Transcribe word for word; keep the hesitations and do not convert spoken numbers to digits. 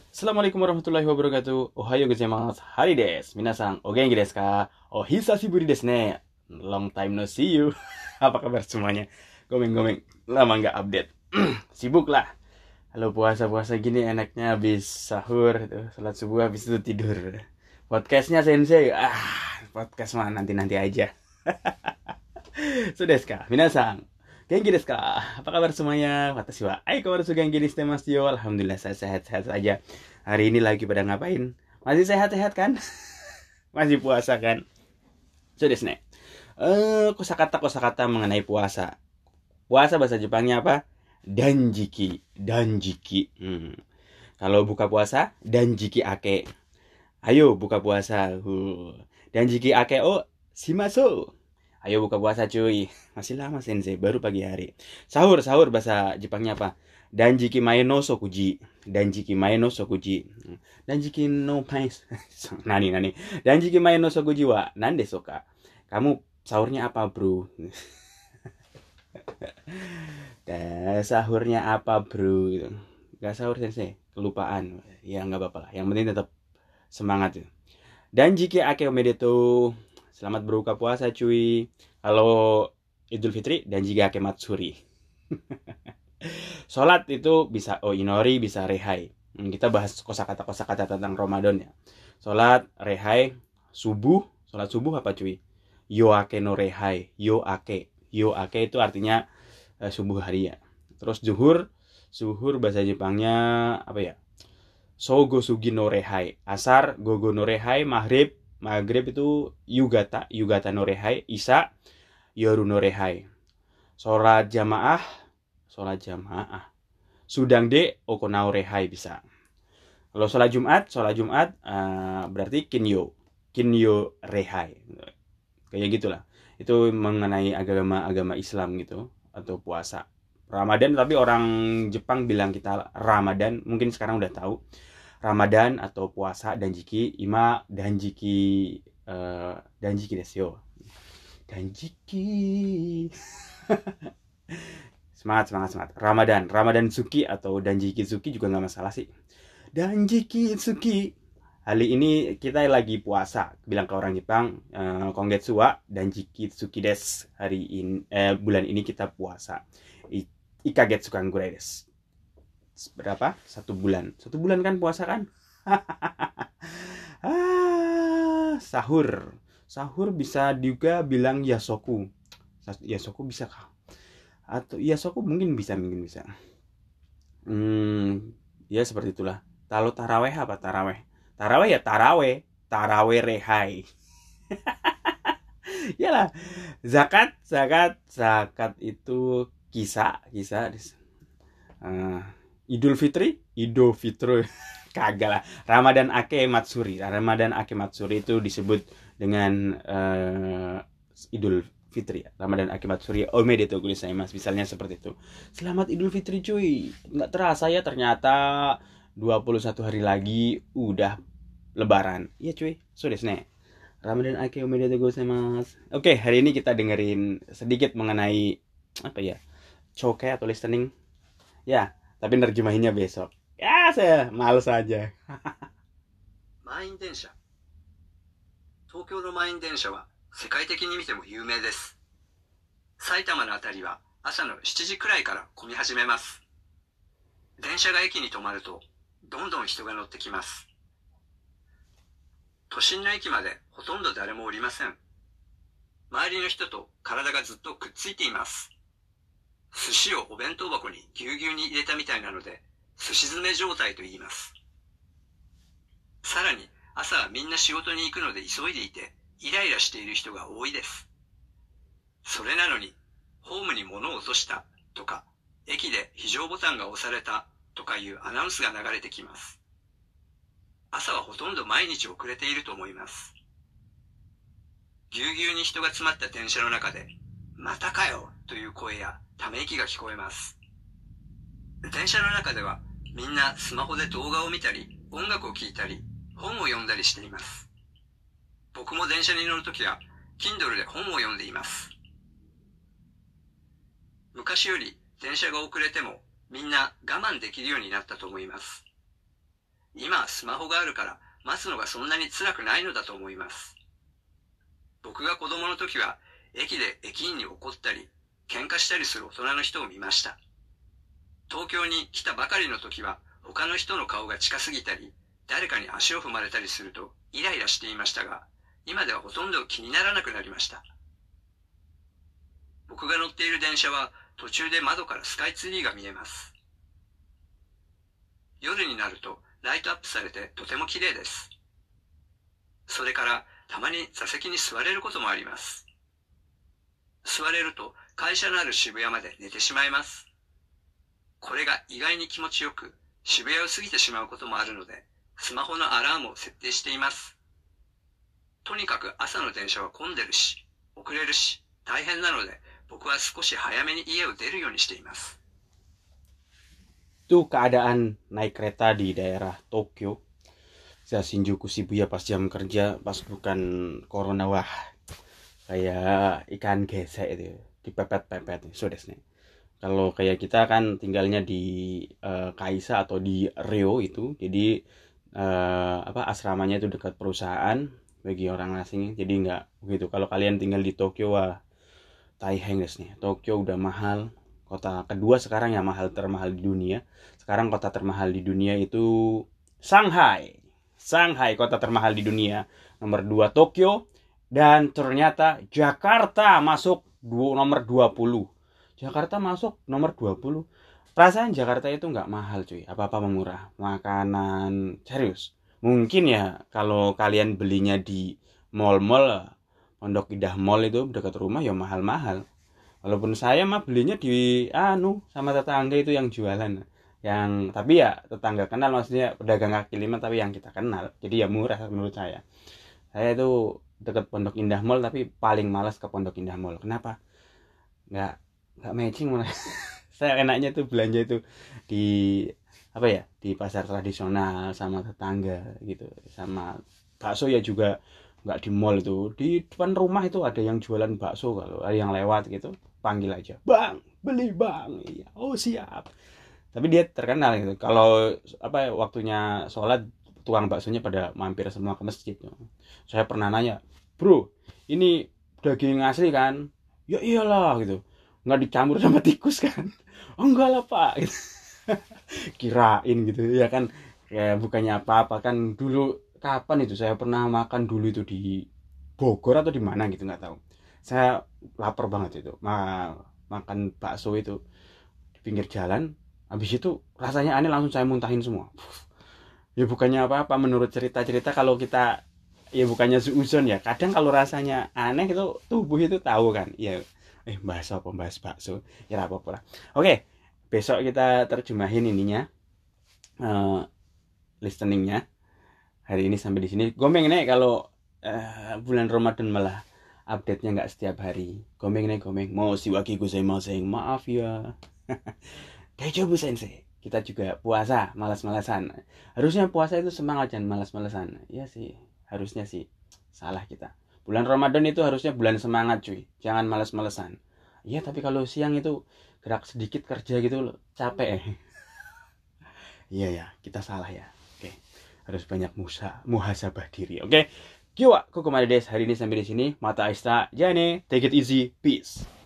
Assalamualaikum warahmatullahi wabarakatuh. Ohayo gozaimasu. Hari desu. Minasan, o genki desu ka? O hisashiburi desu ne. Long time no see you. Apa kabar semuanya? Gomeng-gomeng. Lama nggak update. Sibuk lah. Kalau puasa-puasa gini enaknya habis sahur, tuh, salat subuh habis itu tidur. Podcastnya sensei. Ah, podcast mah nanti-nanti aja. Sudah kah? Minasan. Genki desu ka? Apa kabar semuanya? Watashi wa aikawaratsu genki ni shite masu yo. Alhamdulillah saya sehat-sehat saja. Hari ini lagi pada ngapain? Masih sehat-sehat kan? Masih puasa kan? Sudah desu ne. Eh, kosakata-kosakata mengenai puasa. Puasa bahasa Jepangnya apa? Danjiki. Danjiki. Hmm. Kalau buka puasa, danjiki ake. Ayo buka puasa. Huh. Danjiki ake o shimasu. Ayo buka puasa cuy. Masih lama sensei, baru pagi hari. Sahur, sahur bahasa Jepangnya apa? Danjiki mae no sokuji. Danjiki mae no sokuji. Danjiki no mae. Nani nani. Danjiki mae no sokuji wa nande soka. Kamu sahurnya apa, bro? Dan sahurnya apa, bro? Gak sahur sensei, kelupaan. Ya nggak apa-apa lah. Yang penting tetap semangat. Danjiki ake omedetou. Selamat berbuka puasa cuy. Kalau Idul Fitri dan jika ake matsuri. Sholat itu bisa oh inori, bisa rehai. Hmm, kita bahas kosakata kosakata tentang Ramadan ya. Sholat rehai, subuh, sholat subuh apa cuy? Yo ake no rehai, yo ake. Yo ake itu artinya eh, subuh hari ya. Terus zuhur, zuhur bahasa Jepangnya apa ya? Sogo sugi no rehai. Asar, gogo no rehai, maghrib, maghrib itu yugata, yugata no rehai, isya, yoru no rehai. Sholat jamaah, sholat jamaah. Sudang de okonao rehai bisa. Kalau sholat Jumat, sholat Jumat uh, berarti kinyo, kinyo rehai. Kayak gitulah. Itu mengenai agama-agama Islam gitu atau puasa. Ramadan tapi orang Jepang bilang kita Ramadan, mungkin sekarang udah tahu. Ramadan atau puasa danjiki ima danjiki uh, danjiki desu yo. Danjiki. Semangat semangat semangat. Ramadan, Ramadan Suki atau danjiki Suki juga nggak masalah sih. Danjiki Suki. Hari ini kita lagi puasa. Bilang ke orang Jepang, uh, kongetsu wa danjiki Suki desu. Hari ini eh, bulan ini kita puasa. I, ikagetsu kan gurai desu. Berapa? Satu bulan. Satu bulan kan puasa kan? ah, sahur. Sahur bisa juga bilang yasoku. Yasoku bisa kah? Atau yasoku mungkin bisa, mungkin bisa. Hmm, ya seperti itulah. Kalau taraweh apa taraweh? Taraweh ya taraweh. Taraweh rehai. Yalah. Zakat, zakat, zakat itu kisah, kisah. Uh, Idul Fitri, Idul Fitri, kagak lah. Ramadan Ake Matsuri, Ramadan Ake Matsuri itu disebut dengan uh, Idul Fitri. Ramadan Ake Matsuri, omedetou gozaimasu, misalnya seperti itu. Selamat Idul Fitri cuy. Nggak terasa ya ternyata dua puluh satu hari lagi udah Lebaran. Iya cuy, so desu ne. Ramadan Ake omedetou gozaimasu. Oke, hari ini kita dengerin sedikit mengenai apa ya? Chokai atau listening. Ya, tapi nerjemahinnya besok. Ya, saya males aja. 満員電車。東京の満員電車は世界的に見ても有名です。埼玉のあたりは朝のしちじくらいから混み始めます。電車が駅に止まるとどんどん人が乗ってきます。都心の駅までほとんど誰もおりません。周りの人と体がずっとくっついています。寿司をお弁当箱にぎゅうぎゅうに入れたみたいなので、寿司詰め状態と言います。さらに、朝はみんな仕事に行くので急いでいて、イライラしている人が多いです。それなのに、ホームに物を落としたとか、駅で非常ボタンが押されたとかいうアナウンスが流れてきます。朝はほとんど毎日遅れていると思います。ぎゅうぎゅうに人が詰まった電車の中で、またかよという声やため息が聞こえます。電車の中ではみんなスマホで動画を見たり、音楽を聴いたり、本を読んだりしています。僕も電車に乗るときは Kindle で本を読んでいます。昔より電車が遅れてもみんな我慢できるようになったと思います。 今はスマホがあるから待つのがそんなに辛くないのだと思います。僕が子供の時は駅で駅員に怒ったり喧嘩したりする大人の人を見ました。東京に来たばかりの時は他の人の顔が近すぎたり誰かに足を踏まれたりするとイライラしていましたが、今ではほとんど気にならなくなりました。僕が乗っている電車は途中で窓からスカイツリーが見えます。夜になるとライトアップされてとても綺麗です。それからたまに座席に座れることもあります。座れると会社のある渋谷まで寝てしまいます。これが意外に気持ちよく、渋谷を過ぎてしまうこともあるので、スマホのアラームを設定しています。とにかく朝の電車は混んでるし、遅れるし、大変なので、僕は少し早めに家を出るようにしています。 Itu keadaan naik kereta di daerah Tokyo, Shinjuku Shibuya pas jam kerja, pas bukan corona, wah kayak ikan gesek itu, dipepet-pepet. So desu ne. Kalau kayak kita kan tinggalnya di uh, Kaisa atau di Ryo itu, jadi uh, apa asramanya itu dekat perusahaan bagi orang asing, jadi nggak begitu. Kalau kalian tinggal di Tokyo, wah taiheng desu nih. Tokyo udah mahal. Kota kedua sekarang yang mahal termahal di dunia. Sekarang kota termahal di dunia itu Shanghai. Shanghai kota termahal di dunia. Nomor dua Tokyo. Dan ternyata Jakarta masuk du- nomor dua puluh. Jakarta masuk nomor dua puluh. Perasaan Jakarta itu nggak mahal cuy. Apa-apa murah. Makanan serius. Mungkin ya kalau kalian belinya di mall-mall, Pondok Indah Mall itu dekat rumah ya mahal-mahal. Walaupun saya mah belinya di anu sama tetangga itu yang jualan, yang tapi ya tetangga kenal, maksudnya pedagang kaki lima tapi yang kita kenal, jadi ya murah menurut saya. Saya itu dekat Pondok Indah Mall tapi paling malas ke Pondok Indah Mall. Kenapa? Nggak nggak matching malah. Saya enaknya tuh belanja itu di apa ya, di pasar tradisional sama tetangga gitu, sama bakso ya juga nggak di mall itu, di depan rumah itu ada yang jualan bakso, kalau ada yang lewat gitu panggil aja, bang beli bang, iya, oh siap. Tapi dia terkenal gitu, kalau apa ya, waktunya sholat tukang baksonya pada mampir semua ke masjid. Saya pernah nanya, bro ini daging asli kan? Ya iyalah gitu, nggak dicampur sama tikus kan? Oh enggak lah pak gitu. Kirain gitu ya kan, ya bukannya apa-apa kan. Dulu kapan itu saya pernah makan dulu itu di Bogor atau di mana gitu nggak tahu. Saya lapar banget itu, Ma- makan bakso itu di pinggir jalan. Habis itu rasanya aneh, langsung saya muntahin semua. Ya bukannya apa-apa, menurut cerita-cerita kalau kita ya bukannya suuzon ya. Kadang kalau rasanya aneh itu tubuh itu tahu kan. Ya eh bahas apa, bahas bakso. Ya apa-apa lah. Oke, besok kita terjemahin ininya, uh, listeningnya. Hari ini sampai di sini. Gomeng nih kalau uh, bulan Ramadan malah update-nya nggak setiap hari. Gomeng nih gomeng. Mau siwaki gozaimasen. Maaf ya. Daijoubu sensei. Kita juga puasa, malas-malasan. Harusnya puasa itu semangat, jangan malas-malasan. Ya sih, harusnya sih. Salah kita. Bulan Ramadan itu harusnya bulan semangat cuy. Jangan malas-malasan. Iya, tapi kalau siang itu gerak sedikit kerja gitu capek. Iya ya, kita salah ya. Oke. Harus banyak musa, muhasabah diri. Oke. Kyo wa kokomade desu. Hari ini sampai di sini. Mata aista. Jane. Take it easy. Peace.